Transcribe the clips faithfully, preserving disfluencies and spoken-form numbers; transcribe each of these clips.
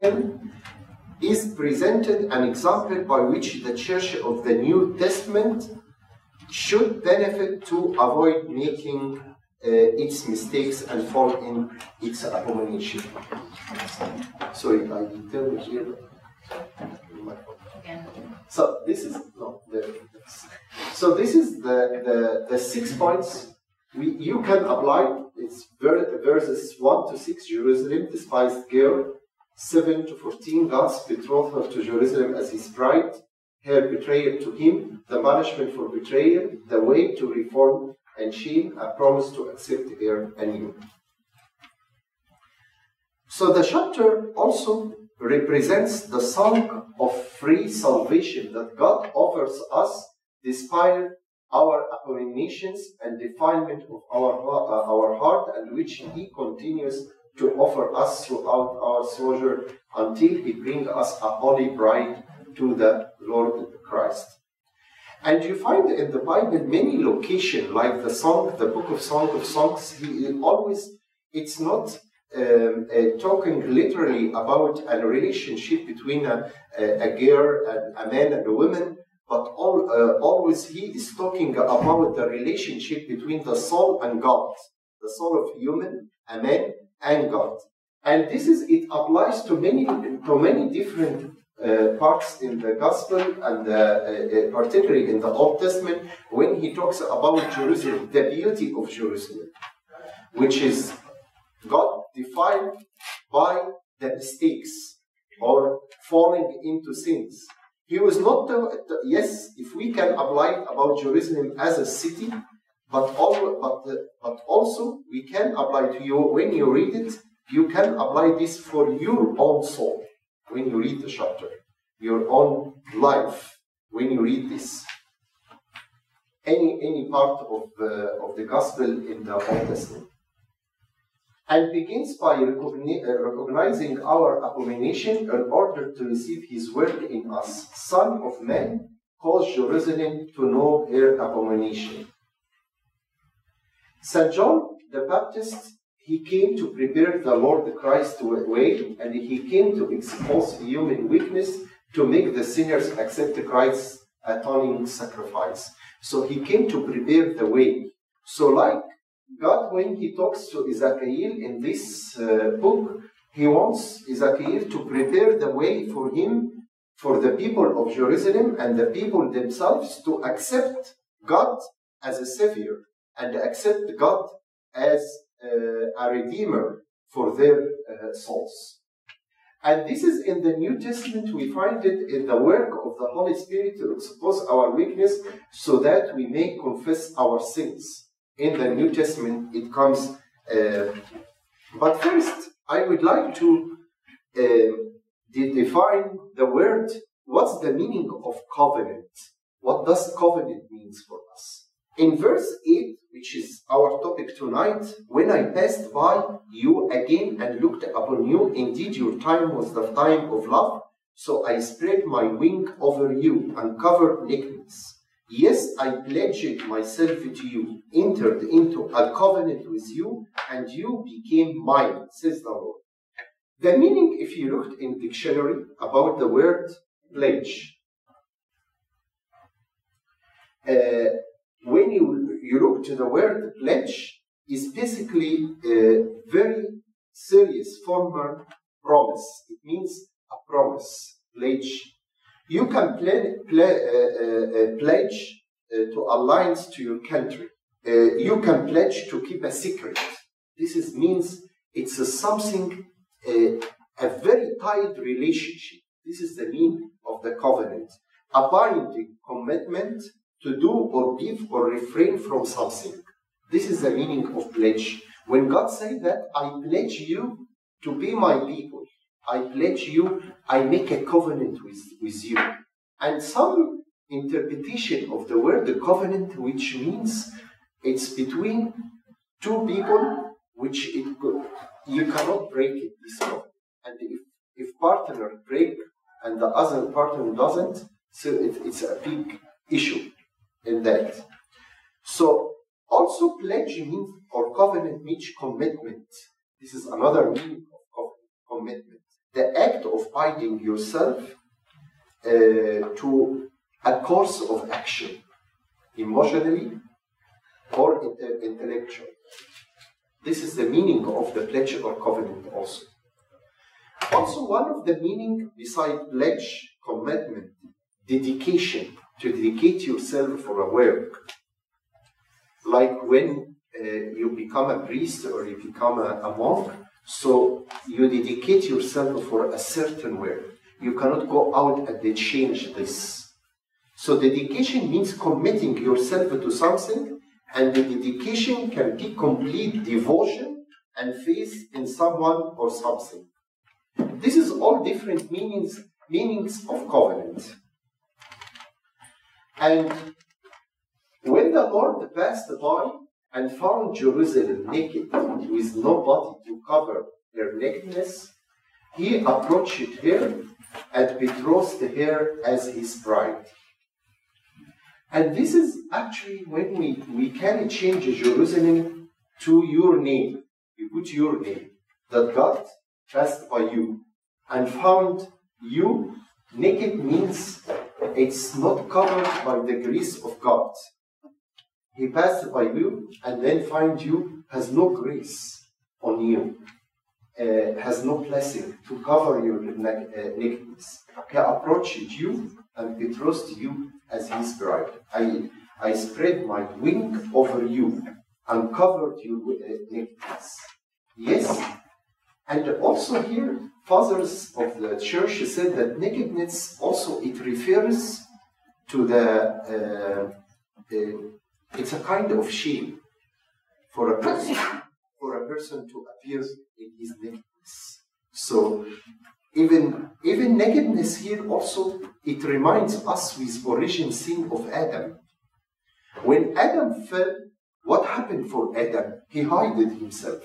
is presented an example by which the Church of the New Testament should benefit to avoid making uh, its mistakes and fall in its abomination. Sorry, I didn't hear. So this is no. The, so this is the, the the six points we you can apply. It's verses one to six. Jerusalem, despised girl. Seven to fourteen. God's betrothal to Jerusalem as His bride. Her betrayal to Him. The punishment for betrayal. The way to reform and shame. A promise to accept her anew. So the chapter also represents the song of free salvation that God offers us despite our abominations and defilement of our, uh, our heart, and which He continues to offer us throughout our sojourn until He brings us a holy bride to the Lord Christ. And you find in the Bible many locations, like the song, the book of Song of Songs, he always, it's not Um, uh, talking literally about a relationship between a, a, a girl, and a man, and a woman, but all, uh, always he is talking about the relationship between the soul and God, the soul of human, a man, and God. And this is, it applies to many, to many different uh, parts in the Gospel, and uh, uh, particularly in the Old Testament, when he talks about Jerusalem, the beauty of Jerusalem, which is God defined by the mistakes or falling into sins. He was not, the, the, yes, if we can apply it about Jerusalem as a city, but, all, but, the, but also we can apply to you, when you read it, you can apply this for your own soul, when you read the chapter, your own life, when you read this. Any, any part of the, of the Gospel in the Old Testament. And begins by recognizing our abomination in order to receive His word in us. Son of man, cause Jerusalem to know her abomination. Saint John the Baptist, he came to prepare the Lord Christ's way, and he came to expose human weakness to make the sinners accept Christ's atoning sacrifice. So he came to prepare the way. So like God, when He talks to Ezekiel in this uh, book, He wants Ezekiel to prepare the way for him, for the people of Jerusalem and the people themselves to accept God as a Savior and accept God as uh, a Redeemer for their uh, souls. And this is in the New Testament, we find it in the work of the Holy Spirit to expose our weakness so that we may confess our sins. In the New Testament, it comes. Uh, but first, I would like to uh, de- define the word. What's the meaning of covenant? What does covenant mean for us? In verse eight, which is our topic tonight, when I passed by you again and looked upon you, indeed your time was the time of love, so I spread my wing over you and covered nakedness. Yes, I pledged myself to you, entered into a covenant with you, and you became mine, says the Lord. The meaning, if you looked in dictionary about the word pledge, uh, when you, you look to the word pledge, is basically a very serious formal promise. It means a promise, pledge. You can play, play, uh, uh, pledge uh, to alliance to your country. Uh, you can pledge to keep a secret. This is, means it's a something, uh, a very tight relationship. This is the meaning of the covenant. A binding commitment to do or give or refrain from something. This is the meaning of pledge. When God said that, I pledge you to be my people. I pledge you, I make a covenant with, with you. And some interpretation of the word the covenant, which means it's between two people, which it you cannot break it, this covenant. And if, if partner break and the other partner doesn't, so it, it's a big issue in that. So also pledge means, or covenant means commitment. This is another meaning of covenant, commitment. the act of binding yourself uh, to a course of action, emotionally or intellectually. This is the meaning of the pledge or covenant also. Also, one of the meaning beside pledge, commitment, dedication, to dedicate yourself for a work. Like when uh, you become a priest or you become a, a monk, so you dedicate yourself for a certain work. You cannot go out and they change this. So dedication means committing yourself to something, and the dedication can be complete devotion and faith in someone or something. This is all different meanings, meanings of covenant. And when the Lord passed by and found Jerusalem naked with nobody to cover her nakedness, he approached her and betrothed her as his bride. And this is actually when we, we can change Jerusalem to your name. You put your name, that God passed by you and found you naked means it's not covered by the grace of God. He passed by you and then find you has no grace on you, uh, has no blessing to cover your nakedness. He approached you and betrothed you as his bride. I, I spread my wing over you and covered you with nakedness. Yes, and also here, fathers of the church said that nakedness also it refers to the, uh, uh, it's a kind of shame for a person, for a person to appear in his nakedness. So even, even nakedness here also, it reminds us with origin sin of Adam. When Adam fell, what happened for Adam? He hid himself.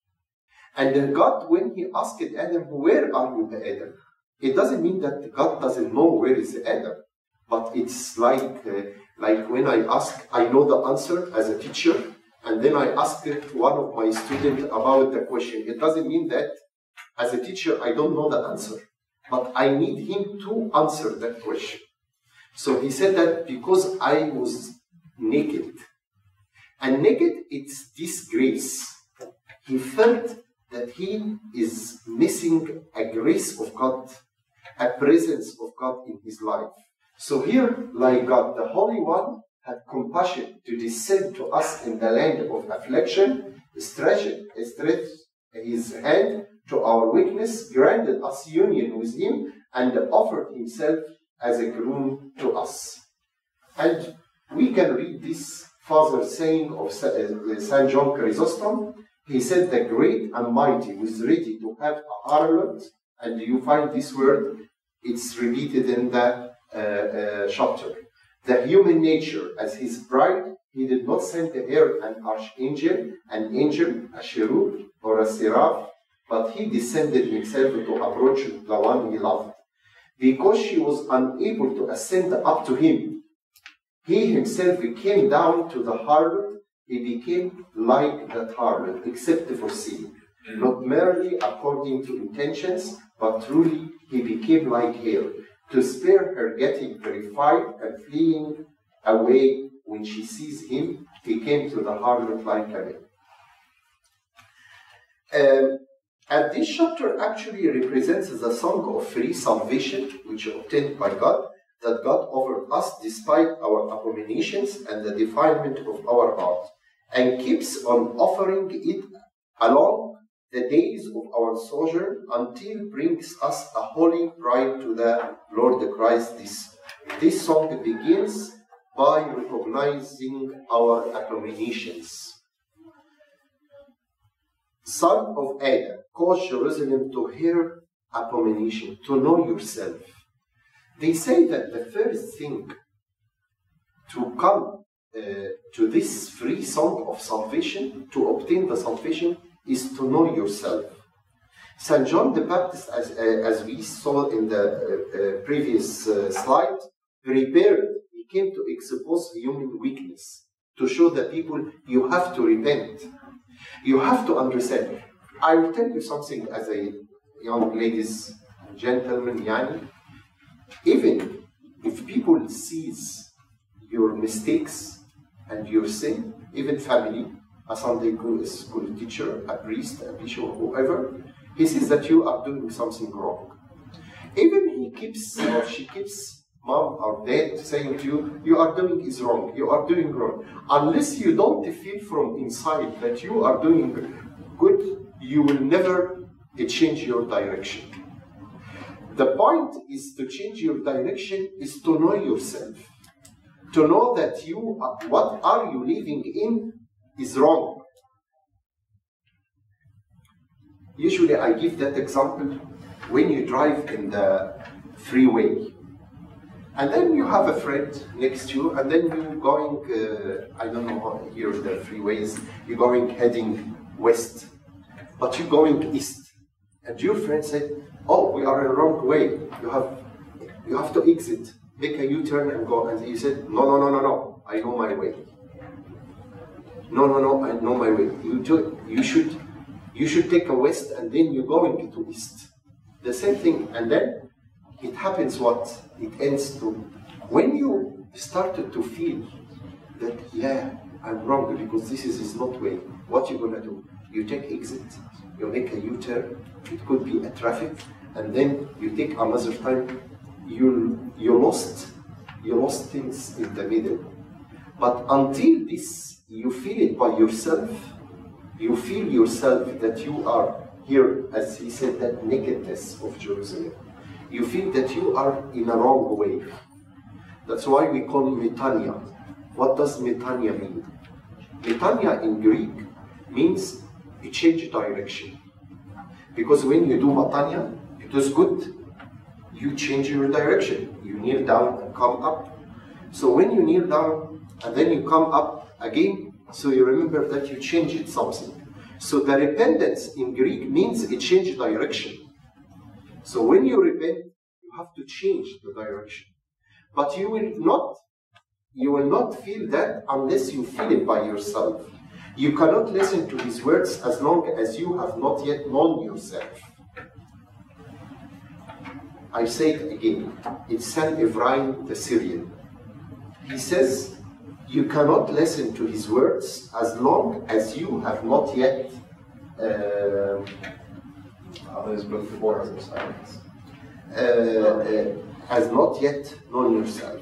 And God, when he asked Adam, where are you, Adam? It doesn't mean that God doesn't know where is Adam. But it's like, uh, like when I ask, I know the answer as a teacher, and then I ask one of my students about the question. It doesn't mean that as a teacher, I don't know the answer. But I need him to answer that question. So he said that because I was naked. And naked, it's disgrace. He felt that he is missing a grace of God, a presence of God in his life. So here, like God, the Holy One had compassion to descend to us in the land of affliction, stretched, stretched his hand to our weakness, granted us union with him, and offered himself as a groom to us. And we can read this father saying of Saint John Chrysostom. He said, the great and mighty was ready to have a harlot, and you find this word, it's repeated in the uh, uh, chapter. The human nature as his bride, he did not send to her an archangel, an angel, a cherub, or a seraph, but he descended himself to approach the one he loved. Because she was unable to ascend up to him, he himself came down to the harlot. He became like that harlot, except for sin. Not merely according to intentions, but truly he became like her, to spare her getting terrified and fleeing away when she sees him. He came to the harlot like a man. Um, and this chapter actually represents the song of free salvation, which is obtained by God, that God offered us despite our abominations and the defilement of our heart, and keeps on offering it along the days of our sojourn until brings us a holy bride to the Lord Christ. This, this song begins by recognizing our abominations. Son of Adam, cause Jerusalem to hear abomination, to know yourself. They say that the first thing to come Uh, to this free song of salvation, to obtain the salvation, is to know yourself. Saint John the Baptist, as, uh, as we saw in the uh, uh, previous uh, slide, prepared, he came to expose human weakness, to show the people you have to repent. You have to understand. I will tell you something as a young ladies and gentlemen, yani, even if people sees your mistakes and your sin, even family, a Sunday school teacher, a priest, a bishop, whoever, he sees that you are doing something wrong. Even he keeps or she keeps mom or dad saying to you, you are doing is wrong, you are doing wrong. Unless you don't feel from inside that you are doing good, you will never change your direction. The point is to change your direction is to know yourself. To know that you, what are you living in is wrong. Usually I give that example when you drive in the freeway. And then you have a friend next to you, and then you're going, uh, I don't know how here the freeways, you're going heading west, but you're going east. And your friend said, oh, we are in the wrong way. You have, you have to exit, make a U-turn and go. And he said, no, no, no, no, no, I know my way. No, no, no, I know my way. You, do, you, should, you should take a west and then you're going to east. The same thing. And then it happens what? It ends to, when you started to feel that, yeah, I'm wrong because this is, is not way, what you gonna do? You take exit, you make a U-turn, it could be a traffic, and then you take another time, you, you lost, you lost things in the middle. But until this, you feel it by yourself, you feel yourself that you are here, as he said, that nakedness of Jerusalem. You feel that you are in a wrong way. That's why we call it metania. What does metania mean? Metania in Greek means a change direction. Because when you do metania, it is good. You change your direction. You kneel down and come up. So when you kneel down and then you come up again, so you remember that you changed something. So the repentance in Greek means a change direction. So when you repent, you have to change the direction. But you will not, you will not feel that unless you feel it by yourself. You cannot listen to his words as long as you have not yet known yourself. I say it again. It's Saint Ephraim the Syrian. He says, you cannot listen to his words as long as you have not yet uh, Others book the borders of silence. Uh, uh, has not yet known yourself.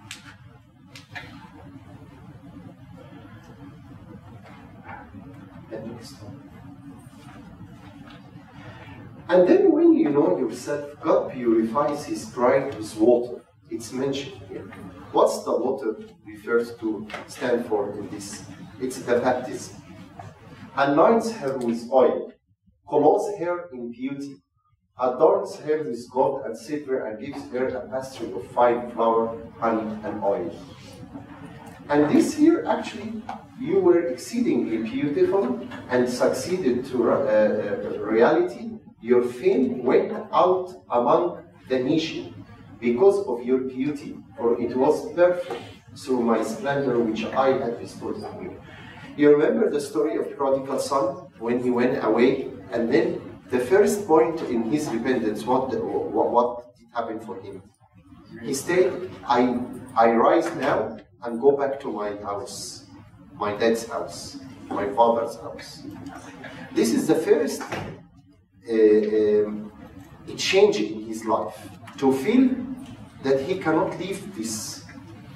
And then when you know yourself, God purifies his pride with water. It's mentioned here. What's the water refers to, stand for in this? It's the baptism. Anoints her with oil, clothes her in beauty, adorns her with gold and silver, and gives her a pastry of fine flour, honey, and oil. And this here, actually, you were exceedingly beautiful and succeeded to uh, uh, reality. Your fame went out among the nation because of your beauty, for it was perfect through my splendor which I had bestowed on you. You remember the story of the prodigal son when he went away, and then the first point in his repentance, what, the, what, what did happen for him? He said, I, I rise now and go back to my house, my dad's house, my father's house. This is the first uh, um, change in his life, to feel that he cannot leave this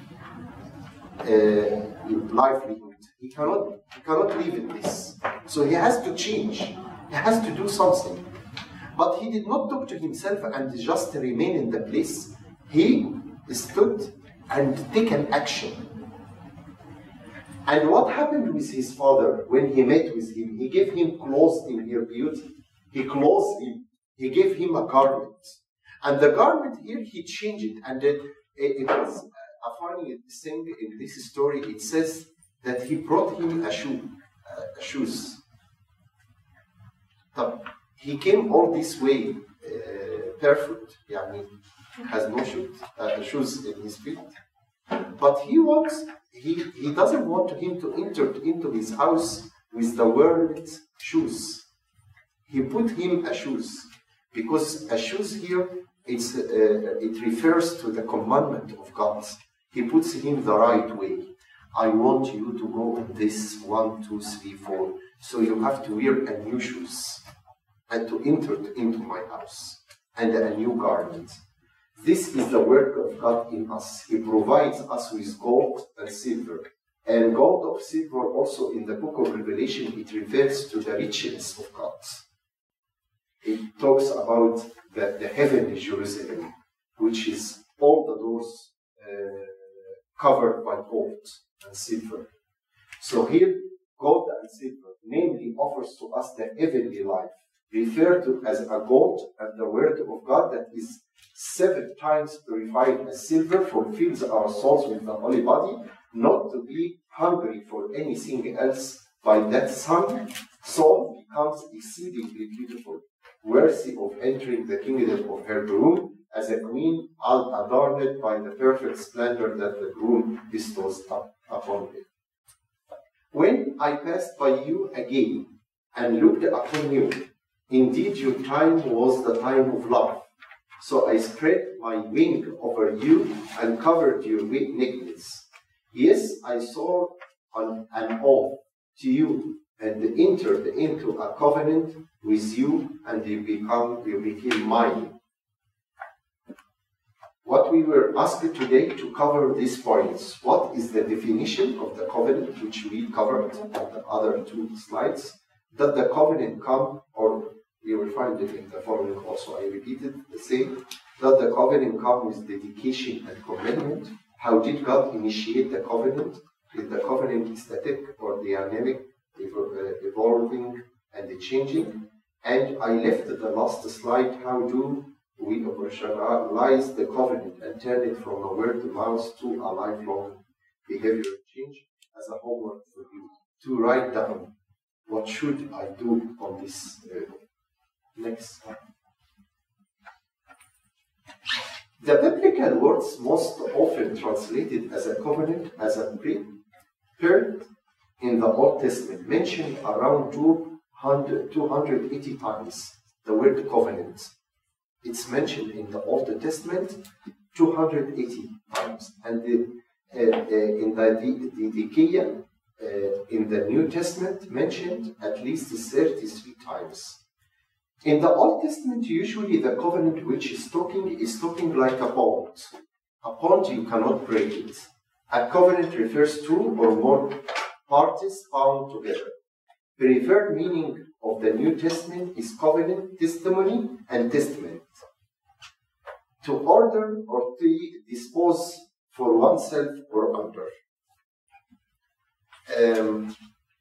uh, livelihood. He cannot, he cannot live in this. So he has to change. He has to do something. But he did not talk to himself and just remain in the place. He stood and take an action. And what happened with his father when he met with him? He gave him clothes in her beauty. He clothed him. He gave him a garment. And the garment here, he changed it. And it, it, it was a funny thing in this story. It says that he brought him a shoe, uh, shoes. So he came all this way uh, barefoot. Yeah, I mean, has no shoes, uh, shoes in his feet. But he wants, he, he doesn't want him to enter into his house with the world's shoes. He put him a shoes. Because a shoes here, it's, uh, it refers to the commandment of God. He puts him the right way. I want you to go on this one, two, three, four. So you have to wear a new shoes and to enter into my house and a new garment. This is the work of God in us. He provides us with gold and silver. And gold or silver also in the book of Revelation, it refers to the riches of God. It talks about the, the heavenly Jerusalem, which is all the doors uh, covered by gold and silver. So here, gold and silver, namely, offers to us the heavenly life, referred to as a gold, and the word of God that is seven times purified as silver fulfills our souls with the holy body, not to be hungry for anything else. By that sun, soul becomes exceedingly beautiful, worthy of entering the kingdom of her groom, as a queen adorned by the perfect splendor that the groom bestows upon her. When I passed by you again and looked upon you, indeed your time was the time of love. So I spread my wing over you and covered you with nakedness. Yes, I saw an, an oath to you and entered into a covenant with you, and you become you became mine. What we were asked today to cover these points. What is the definition of the covenant, which we covered on the other two slides? Does the covenant come, or you will find it in the following also, I repeated the same. Does the covenant come with dedication and commitment? How did God initiate the covenant? Is the covenant static or dynamic, evolving and changing? And I left the last slide, how do we operationalize the covenant and turn it from a word to mouth to a lifelong behavior change, as a homework for you to write down what should I do on this. Uh, next slide. The biblical words most often translated as a covenant, as a pre-period in the Old Testament, mentioned around two hundred, two hundred eighty times the word covenant. It's mentioned in the Old Testament two hundred eighty times, and the, uh, uh, in the Didakia, uh, in the New Testament, mentioned at least thirty-three times. In the Old Testament, usually the covenant which is talking is talking like a bond. A bond, you cannot break it. A covenant refers to or more parties bound together. The preferred meaning of the New Testament is covenant, testimony, and testament. To order or to dispose for oneself or under. Um,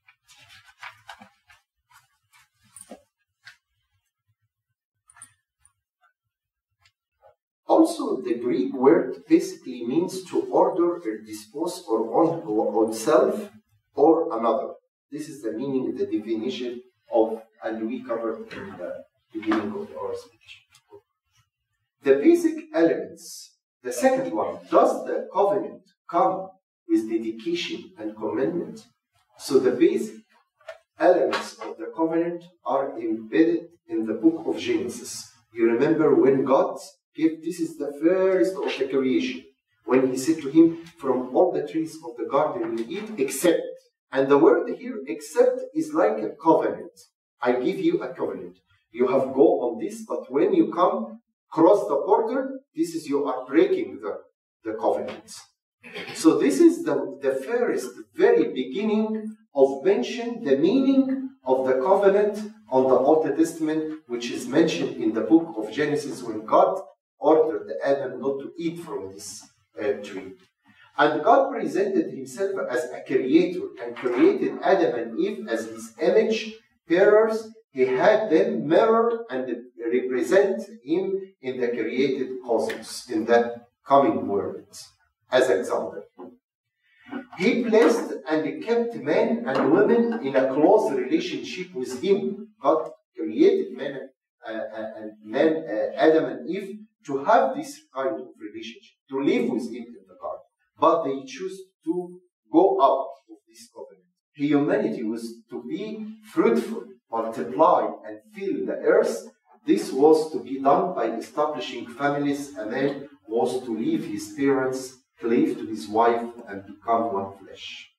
Also, the Greek word basically means to order or dispose or on oneself or another. This is the meaning, the definition of, and we covered in the beginning of our speech. The basic elements, the second one, does the covenant come with dedication and commitment? So the basic elements of the covenant are embedded in the book of Genesis. You remember when God gave, this is the first of the creation, when he said to him, from all the trees of the garden you eat, except, and the word here, except, is like a covenant. I give you a covenant. You have go on this, but when you come, cross the border, this is you are breaking the, the covenant. So this is the, the first, very beginning of mention, the meaning of the covenant on the Old Testament, which is mentioned in the book of Genesis when God ordered Adam not to eat from this uh, tree. And God presented himself as a creator and created Adam and Eve as his image bearers. He had them mirror and represent him in the created cosmos, in the coming world, as example. He placed and kept men and women in a close relationship with him. God created men uh, and men, uh, Adam and Eve, to have this kind of relationship, to live with him in the garden. But they choose to go out of this covenant. Humanity was to be fruitful, multiply, and fill the earth, This was to be done by establishing families. A man was to leave his parents, cleave to his wife, and become one flesh.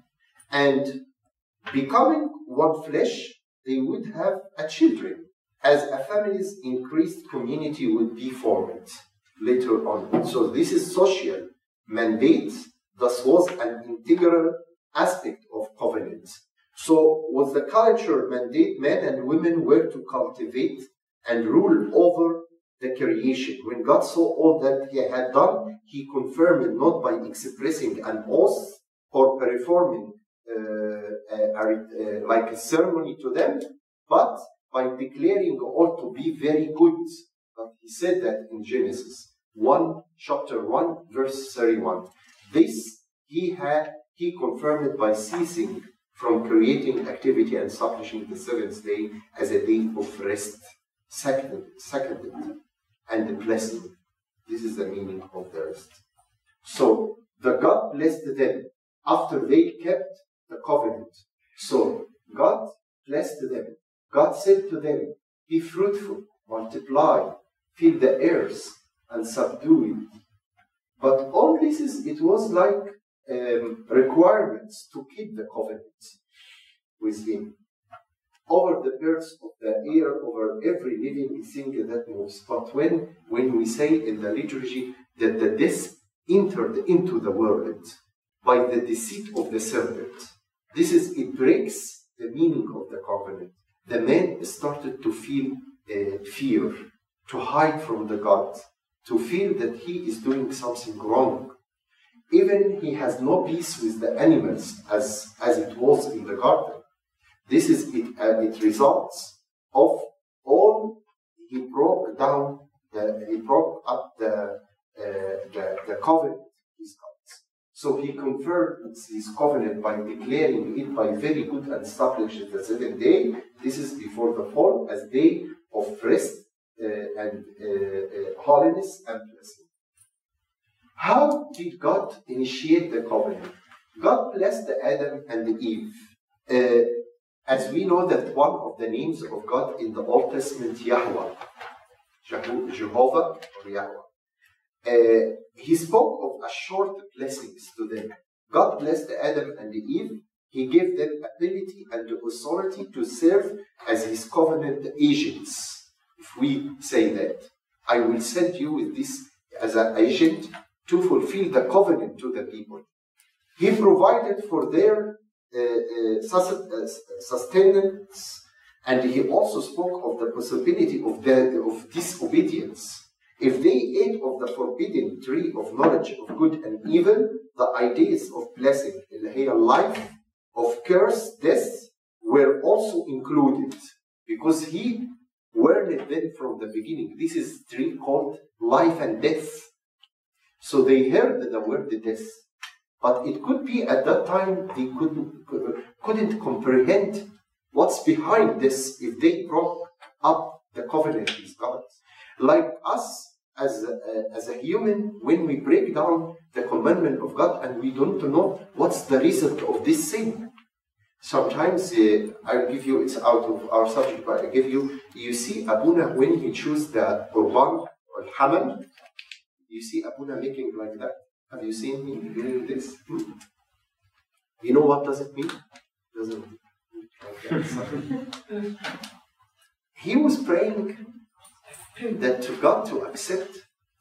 And becoming one flesh, they would have a children. As a family's increased community would be formed later on. So this is social mandate, thus was an integral aspect of covenant. So was the culture mandate men and women were to cultivate and rule over the creation. When God saw all that he had done, he confirmed it not by expressing an oath or performing uh, a, a, a, like a ceremony to them, but by declaring all to be very good. But he said that in Genesis one, chapter one, verse thirty-one. This he had, he confirmed it by ceasing from creating activity and establishing the seventh day as a day of rest, seconded, seconded and the blessing. This is the meaning of the rest. So the God blessed them after they kept the covenant. So God blessed them. God said to them, be fruitful, multiply, fill the earth, and subdue it. But all this is, it was like um, requirements to keep the covenant with him. Over the birds of the air, over every living thing that moves. But when, when we say in the liturgy that the death entered into the world by the deceit of the serpent, this is, it breaks the meaning of the covenant. The man started to feel uh, fear, to hide from the God, to feel that he is doing something wrong. Even he has no peace with the animals as, as it was in the garden. This is it, uh, it results of all, he broke down, the, he broke up the, uh, the, the covenant with God. So he confirmed his covenant by declaring it by very good and established the seventh day. This is before the fall as day of rest uh, and uh, uh, holiness and blessing. How did God initiate the covenant? God blessed Adam and Eve. Uh, as we know that one of the names of God in the Old Testament, Yahweh, Jehovah or Yahweh. Uh, he spoke of a short blessings to them. God blessed Adam and Eve. He gave them ability and authority to serve as his covenant agents. If we say that, I will send you with this as an agent to fulfill the covenant to the people. He provided for their uh, uh, sustenance, and he also spoke of the possibility of, the, of disobedience. If they ate of the forbidden tree of knowledge of good and evil, the ideas of blessing, life, of curse, death, were also included, because he warned them from the beginning. This is a tree called life and death. So they heard the word death, but it could be at that time they couldn't, couldn't comprehend what's behind this if they broke up the covenant with God. Like us as a, as a human, when we break down the commandment of God and we don't know what's the result of this sin. Sometimes, uh, I'll give you, it's out of our subject, but I give you, you see Abuna when he chooses the Qurban or Hamal, you see Abuna making like that. Have you seen him doing this? Hmm? You know what does it mean? Doesn't like he was praying that to God to accept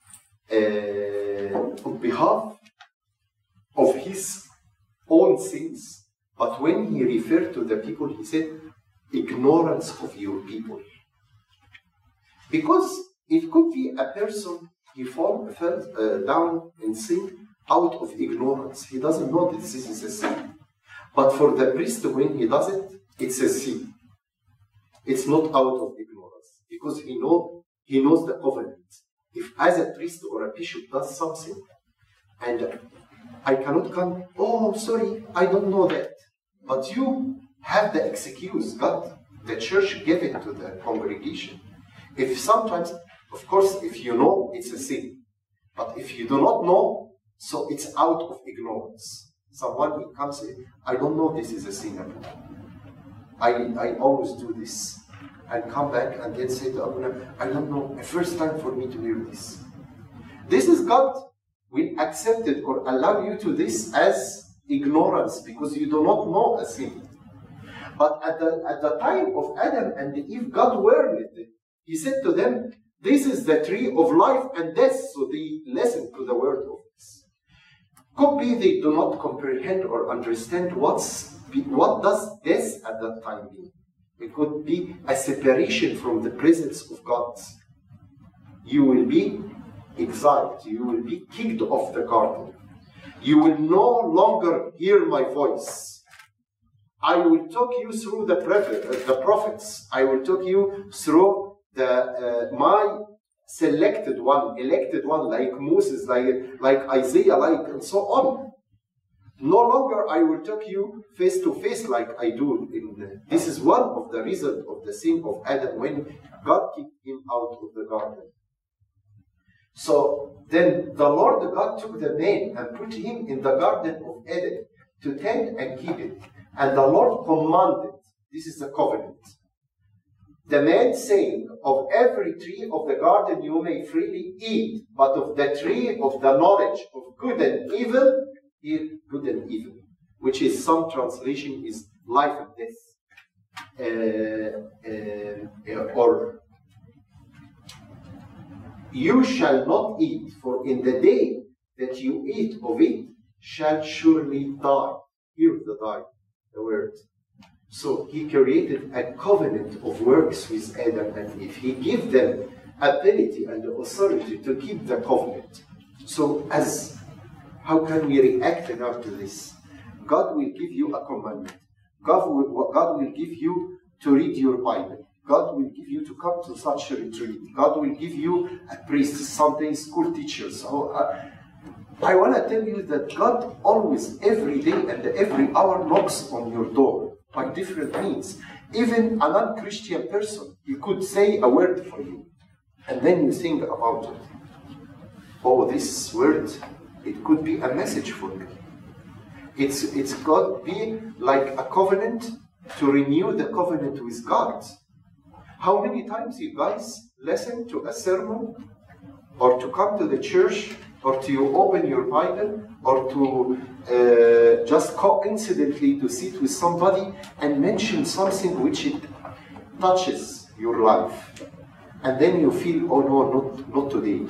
uh, on behalf of his own sins. But when he referred to the people, he said, ignorance of your people. Because it could be a person, he fall, fell uh, down in sin out of ignorance. He doesn't know that this is a sin. But for the priest, when he does it, it's a sin. It's not out of ignorance. Because he, know, he knows the covenant. If as a priest or a bishop does something, and I cannot come, oh, sorry, I don't know that. But you have the excuse. God, the church gave it to the congregation. If sometimes, of course, if you know, it's a sin. But if you do not know, so it's out of ignorance. Someone who comes in, I don't know this is a sin. I, I always do this. and come back and then say to Abuna, I don't know, a first time for me to hear this. This is God will accept it or allow you to this as ignorance because you do not know a thing. But at the, at the time of Adam and Eve, God warned them. He said to them, this is the tree of life and death, so they listen to the word of this. Could be they do not comprehend or understand what's, what does death at that time mean. It could be a separation from the presence of God. You will be exiled. You will be kicked off the garden. You will no longer hear my voice. I will talk you through the, the prophets. I will talk you through the uh, my selected one, elected one, like Moses, like, like Isaiah, like and so on. No longer I will talk you face to face like I do. In the, this is one of the reasons of the sin of Adam when God kicked him out of the garden. So then the Lord God took the man and put him in the garden of Eden to tend and keep it. And the Lord commanded, this is the covenant, the man saying, of every tree of the garden you may freely eat, but of the tree of the knowledge of good and evil, here good and evil, which is some translation is life and death, uh, uh, or you shall not eat, for in the day that you eat of it shall surely die. Here the die, the word. So he created a covenant of works with Adam and Eve. He gave them ability and authority to keep the covenant. So as how can we react now to this? God will give you a commandment. God will, God will give you to read your Bible. God will give you to come to such a retreat. God will give you a priest, Sunday school teacher. So uh, I want to tell you that God always, every day and every hour knocks on your door by different means. Even a non-Christian person, he could say a word for you. And then you think about it. Oh, this word, it could be a message for me. It's, it's got to be like a covenant to renew the covenant with God. How many times you guys listen to a sermon or to come to the church or to you open your Bible or to uh, just coincidentally to sit with somebody and mention something which it touches your life. And then you feel, oh no, not, not today.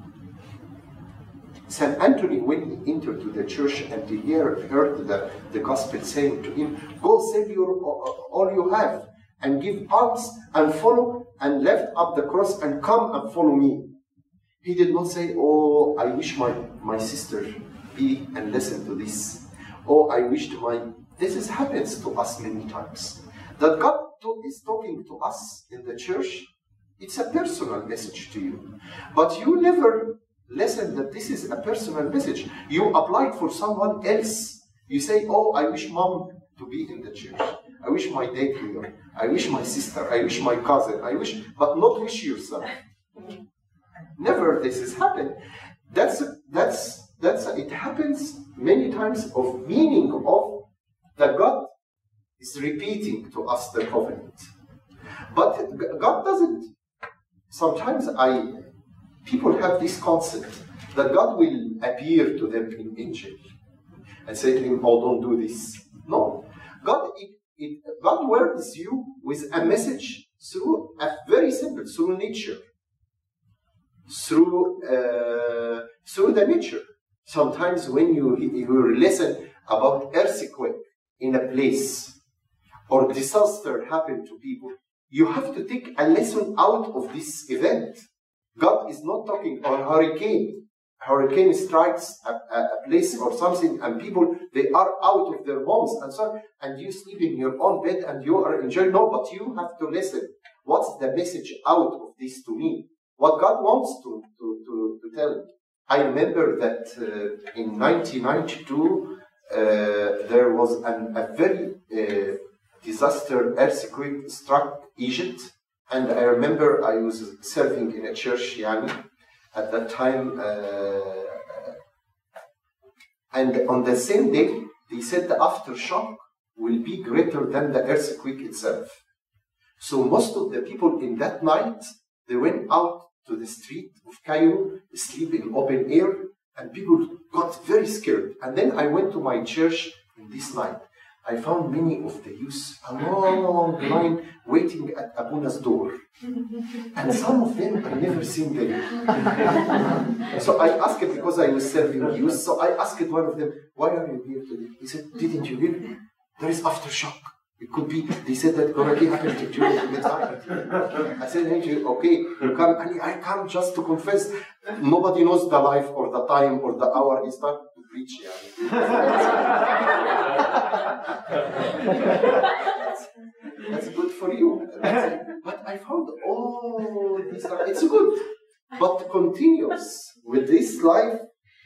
Saint Anthony, when he entered to the church and he heard, heard the, the gospel saying to him, go sell your, all you have and give alms and follow and lift up the cross and come and follow me. He did not say, oh, I wish my, my sister be and listen to this. Oh, I wish to my... This is, happens to us many times. That God to, is talking to us in the church, it's a personal message to you. But you never listen that this is a personal message. You applied for someone else. You say, oh, I wish mom to be in the church. I wish my dad here. I wish my sister. I wish my cousin. I wish, but not wish yourself. Never this has happened. That's, that's, that's, it happens many times of meaning of that God is repeating to us the covenant. But God doesn't. Sometimes I, people have this concept that God will appear to them in angel and say to him, oh, don't do this. No. God, it, it, God works you with a message through a very simple, through nature. Through, uh, through the nature. Sometimes when you, you listen about earthquake in a place or disaster happen to people, you have to take a lesson out of this event. God is not talking on hurricane. Hurricane strikes a, a place or something and people, they are out of their homes and so on, and you sleep in your own bed and you are enjoying. No, but you have to listen. What's the message out of this to me? What God wants to, to, to, to tell. I remember that uh, in nineteen ninety-two, uh, there was an, a very uh, disaster earthquake struck Egypt. And I remember I was serving in a church, Yani, at that time. Uh, and on the same day, they said the aftershock will be greater than the earthquake itself. So most of the people in that night, they went out to the street of Cairo, sleep in open air, and people got very scared. And then I went to my church in this night. I found many of the youth a long line waiting at Abuna's door. And some of them I never seen them. So I asked, because I was serving youth, so I asked one of them, why are you here today? He said, didn't you hear? There is aftershock. It could be, they said that already happened to Julie to get tired. I said, hey, okay, you come, and I come just to confess. Nobody knows the life or the time or the hour he started to preach. that's, that's good for you. But I found all these, it's good. But continuous with this life,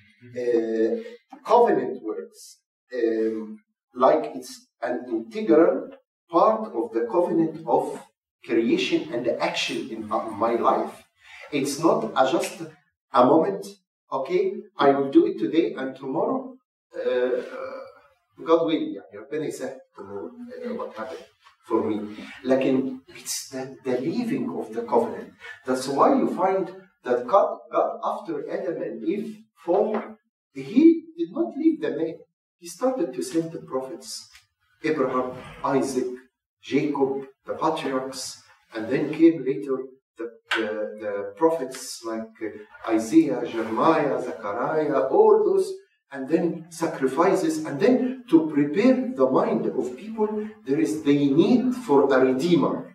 uh, covenant works. Um, like it's an integral part of the covenant of creation and action in my life. It's not a just a moment, okay, I will do it today and tomorrow, uh, God will, يعني ربنا يسهل what happened for me. Like it's the, the leaving of the covenant. That's why you find that God, God after Adam and Eve fall, he did not leave the man. He started to send the prophets, Abraham, Isaac, Jacob, the patriarchs, and then came later the, the, the prophets like Isaiah, Jeremiah, Zechariah, all those, and then sacrifices, and then to prepare the mind of people, there is the need for a redeemer.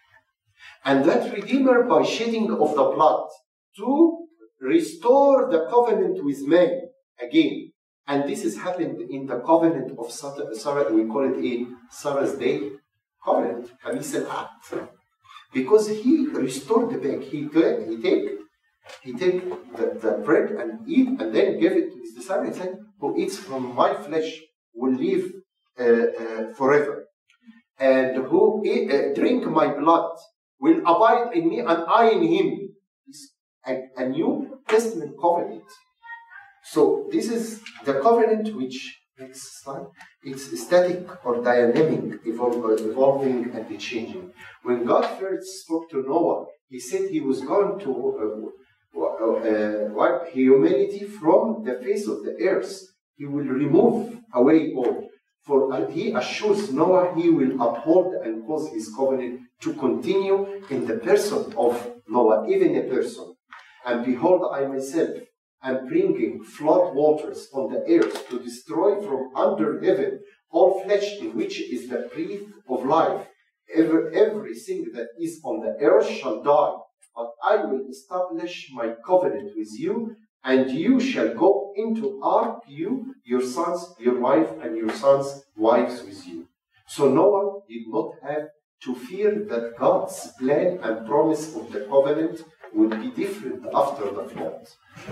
And that redeemer by shedding of the blood to restore the covenant with man again. And this has happened in the covenant of Sarah, we call it in Sarah's Day covenant, Kanis al-Ahd. Because he restored the back. He, he take, he take the, the bread and eat, and then gave it to his disciples and said, who eats from my flesh will live uh, uh, forever. And who eat, uh, drink my blood will abide in me and I in him. It's a, a New Testament covenant. So this is the covenant which makes time. It's static or dynamic, evol evolving and changing. When God first spoke to Noah, he said he was going to uh, uh, wipe humanity from the face of the earth. He will remove away all. For uh, he assures Noah he will uphold and cause his covenant to continue in the person of Noah, even a person. And behold, I myself am bringing flood waters on the earth to destroy from under heaven all flesh in which is the breath of life. Every, everything that is on the earth shall die. But I will establish my covenant with you, and you shall go into ark, you, your sons, your wife, and your sons' wives with you. So Noah did not have to fear that God's plan and promise of the covenant would be different after the flood.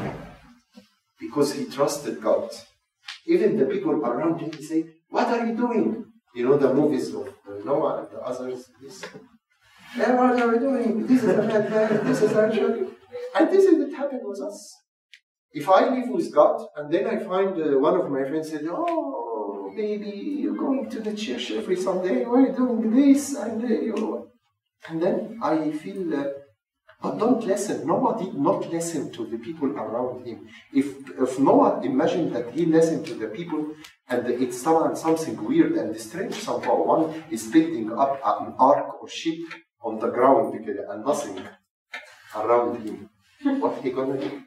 Because he trusted God. Even the people around him say, what are you doing? You know the movies of Noah and the others, this. Hey, what are we doing? This is a bad man, this is actually. And this is what happened with us. If I live with God, and then I find uh, one of my friends said, oh, baby, you're going to the church every Sunday, why are you doing this? And, uh, you... and then I feel, uh, but don't listen. Noah did not listen to the people around him. If, if Noah imagined that he listened to the people, and it's something weird and strange somehow, one is building up an ark or ship on the ground and nothing around him. What he gonna do?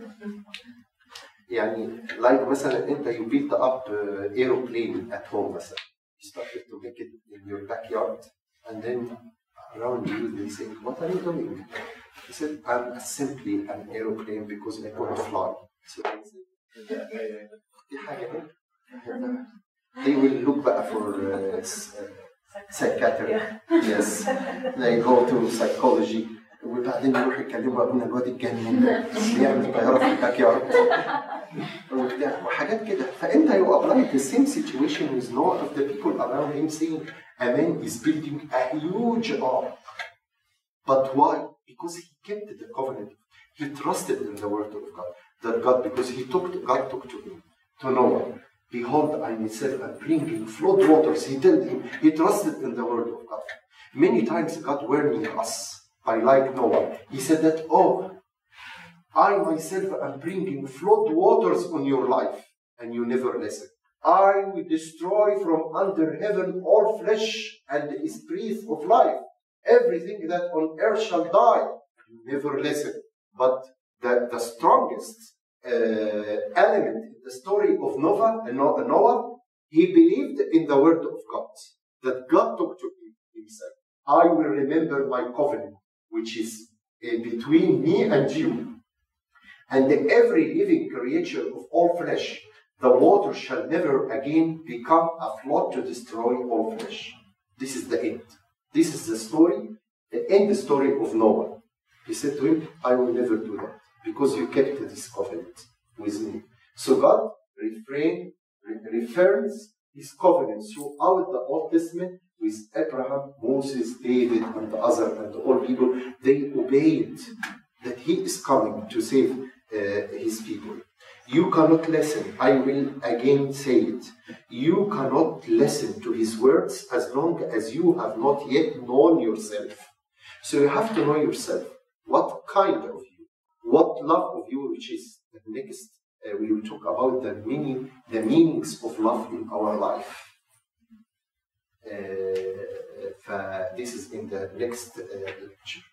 يعني like مثلا انت you build up uh, aeroplane at home مثلا. You started to make it in your backyard, and then around you they say, what are you doing? He said, I'm simply an aeroplane because I want to fly. So they say, they will look back for uh, psychiatric. Yes, they go to psychology. وبعدين يروح يكلموا ابونا الواد الجنين بيعمل طياره في الباك يارد وحاجات كده. فانت you apply the same situation with Noah of the people around him saying a man is building a huge ark. But why? Because he kept the covenant. He trusted in the word of God. That God, because he took to, God took to him, to Noah. Behold, I myself am bringing flood waters. He told him, he trusted in the word of God. Many times God warning us, I like Noah. He said that, oh, I myself am bringing flood waters on your life, and you never listen. I will destroy from under heaven all flesh and his breath of life. Everything that on earth shall die. You never listen. But the, the strongest uh, element in the story of Noah, uh, Noah, he believed in the word of God. That God talked to him. He said, I will remember my covenant, which is uh, between me and you. And every living creature of all flesh, the water shall never again become a flood to destroy all flesh. This is the end. This is the story, the end story of Noah. He said to him, I will never do that, because you kept this covenant with me. So God refrain, refers his covenants throughout the Old Testament with Abraham, Moses, David, and the other, and all people. They obeyed that he is coming to save uh, his people. You cannot listen. I will again say it. You cannot listen to his words as long as you have not yet known yourself. So you have to know yourself. What kind of you? What love of you, which is the next, uh, we will talk about the meaning, the meanings of love in our life. Uh, this is in the next uh, lecture.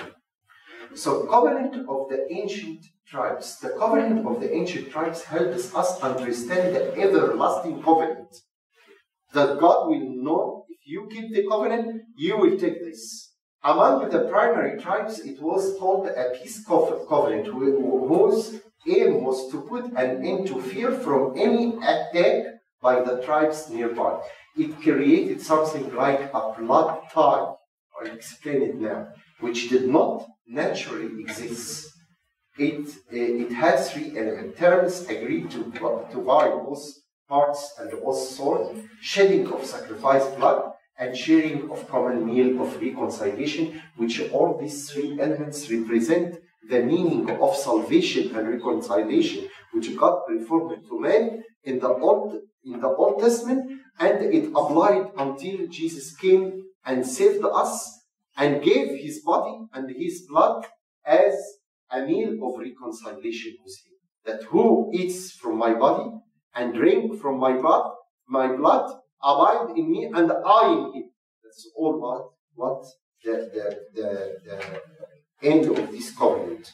So, covenant of the ancient tribes. The covenant of the ancient tribes helps us understand the everlasting covenant. That God will know, if you keep the covenant, you will take this. Among the primary tribes, it was called a peace covenant, whose aim was to put an end to fear from any attack by the tribes nearby. It created something like a blood tie, I'll explain it now, which did not naturally exist. It, uh, it has three elements. Terms agreed to, to buy both parts and both souls, shedding of sacrificed blood, and sharing of common meal of reconciliation, which all these three elements represent the meaning of salvation and reconciliation, which God performed to man in the Old, in the Old Testament, and it applied until Jesus came and saved us and gave his body and his blood as a meal of reconciliation with him. That who eats from my body and drink from my blood, my blood abide in me and I in him. That's all what, what the, the, the, the end of this covenant.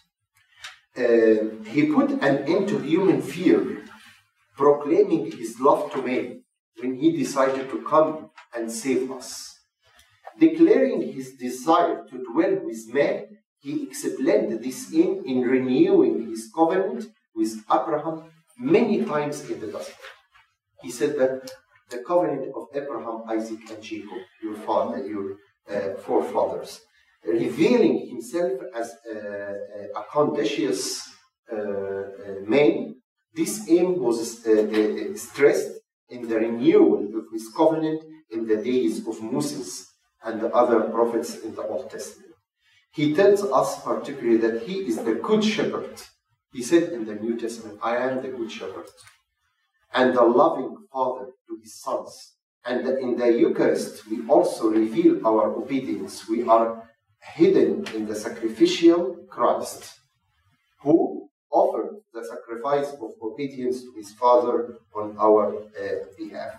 Uh, he put an end to human fear, proclaiming his love to man when he decided to come and save us. Declaring his desire to dwell with man, he explained this aim in renewing his covenant with Abraham many times in the Gospel. He said that the covenant of Abraham, Isaac, and Jacob, your father, your uh, forefathers, revealing himself as a, a conscientious uh, uh, man, this aim was uh, uh, stressed in the renewal of his covenant in the days of Moses and the other prophets in the Old Testament. He tells us particularly that he is the good shepherd. He said in the New Testament, I am the good shepherd, and the loving father to his sons. And in the Eucharist, we also reveal our obedience. We are hidden in the sacrificial Christ, who offered the sacrifice of obedience to his Father on our uh, behalf.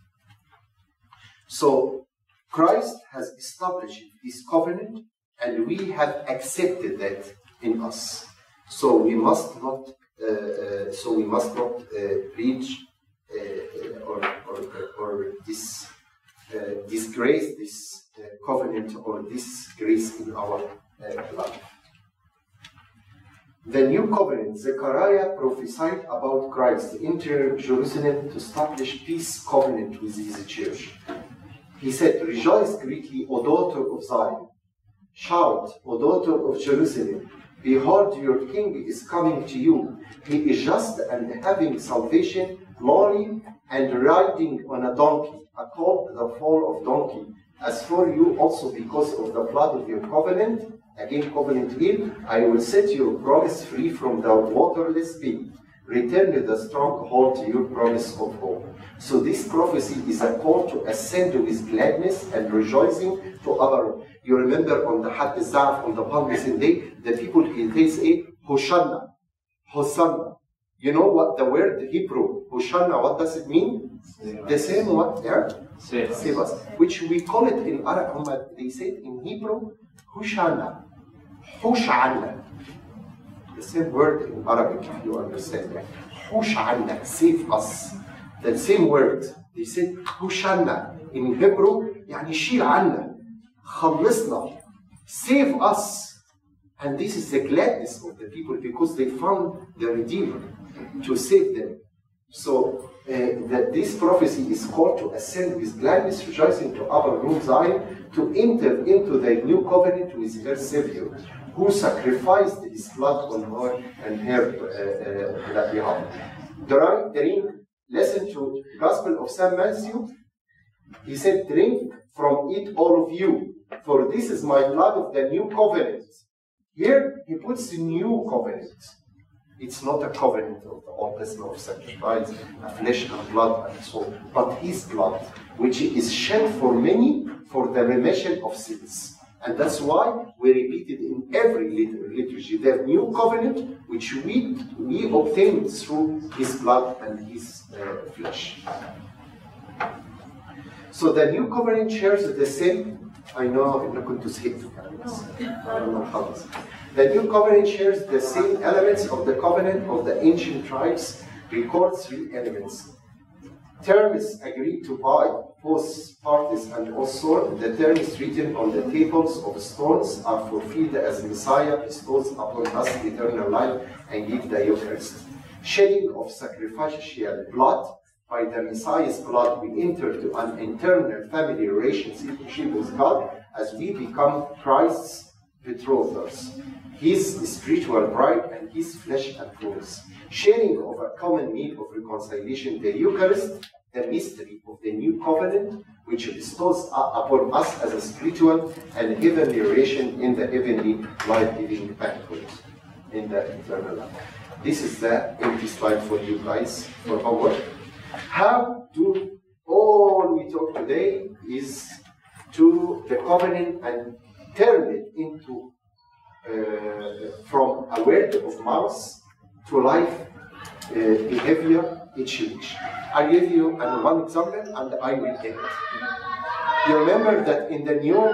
So, Christ has established this covenant, and we have accepted that in us. So we must not. Uh, uh, so we must not uh, reach uh, or or, or dis, uh, disgrace this uh, covenant or disgrace in our uh, life. The new covenant, Zechariah prophesied about Christ entering Jerusalem to establish peace covenant with his church. He said, "Rejoice greatly, O daughter of Zion. Shout, O daughter of Jerusalem. Behold, your king is coming to you. He is just and having salvation, lowly and riding on a donkey, a colt, the foal of donkey. As for you also, because of the blood of your covenant," again covenant here, "I will set your promise free from the waterless pit. return the stronghold to your promise of hope. So this prophecy is a call to ascend with gladness and rejoicing to our. You remember on the Had Zaf, on the Palm Day, the people, they say, Hosanna, Hosanna. You know what the word Hebrew, Hosanna, what does it mean? Save the same what? Yeah? Save, Save us. Which we call it in Arab, they say it in Hebrew, Hosanna. Hosanna. The same word in Arabic, if you understand. Hosanna, save us. The same word. They say Hosanna. In Hebrew, يعني شيل عنا. خلصنا. Save us. And this is the gladness of the people because they found the Redeemer to save them. So uh, that this prophecy is called to ascend with gladness, rejoicing to our room Zion, to enter into the new covenant with her Savior, who sacrificed his blood on her and her uh, uh, behalf. Drink, listen to Gospel of Saint Matthew. He said, drink from it all of you, for this is my blood of the new covenant. Here he puts the new covenant. It's not a covenant of the Old Testament of sacrifice, a flesh and blood and so on, but his blood, which is shed for many for the remission of sins. And that's why we repeat it in every liturgy, the new covenant, which we, we obtained through his blood and his uh, flesh. So the new covenant shares the same, I know I'm not going to say it, I don't know how this. The new covenant shares the same elements of the covenant of the ancient tribes, records three elements. Terms agreed to by both parties, and also the terms written on the tables of stones are fulfilled as Messiah bestows upon us eternal life and give the Eucharist. Shedding of sacrificial blood. By the Messiah's blood, we enter to an internal family relationship with God as we become Christ's betrothers, his spiritual bride and his flesh and bones. Sharing of a common meal of reconciliation, the Eucharist, the mystery of the new covenant, which bestows upon us as a spiritual and heavenly relation in the heavenly life-giving banquet in the eternal life. This is the empty slide for you guys for homework. How do all we talk today is to the covenant and turn it into uh, from a word of mouth to life uh, behavior change. I give you uh, one example and I will end. You remember that in the new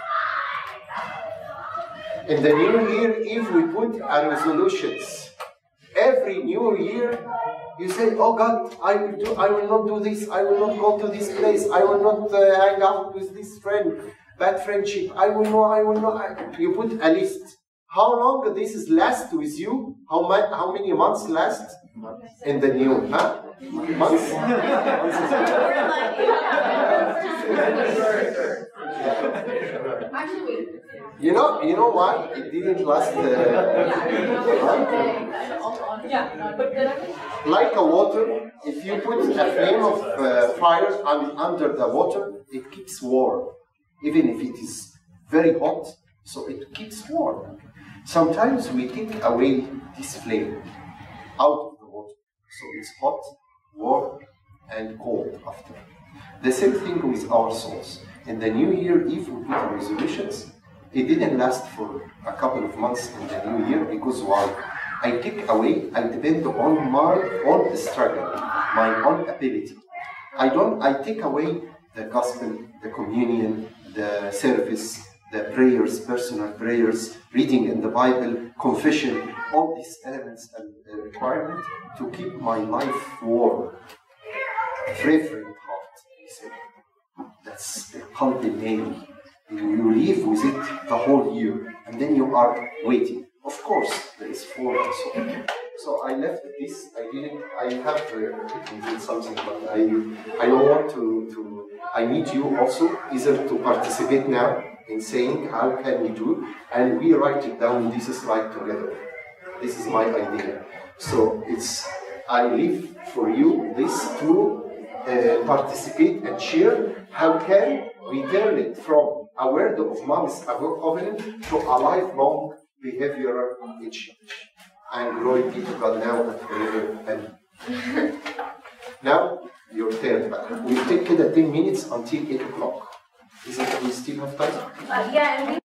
in the new year, if we put our resolutions, every new year you say, oh God, I will do, I will not do this, I will not go to this place, I will not uh, hang out with this friend, bad friendship, I will not, I will not. I, you put a list. How long this is last with you? How, my, how many months last in the new? Huh? Months? You know, you know why it didn't last? Uh, like a water, if you put a flame of uh, fire under the water, it keeps warm, even if it is very hot. So it keeps warm. Sometimes we take away this flame out of the water, so it's hot, warm, and cold after. The same thing with our souls. In the new year, if we put resolutions, it didn't last for a couple of months in the new year, because why? I take away, I depend on my own struggle, my own ability. I don't, I take away the gospel, the communion, the service, the prayers, personal prayers, reading in the Bible, confession, all these elements and uh, requirements to keep my life warm, fragrant heart, he said. That's the qalb nail. You live with it the whole year, and then you are waiting. Of course, there is four and so on. So I left this. I didn't. I have uh, something, but I I don't want to to. I need you also either to participate now in saying how can we do, and we write it down in this slide together. This is my idea. So it's I leave for you this to uh, participate and share. How can we turn it from a word of mouth, a covenant, to a lifelong behavioral change? and glory be to God now and forever. Amen. Now, your turn back. We'll take كده ten minutes until eight o'clock. Is it we still have time? Uh, yeah, and we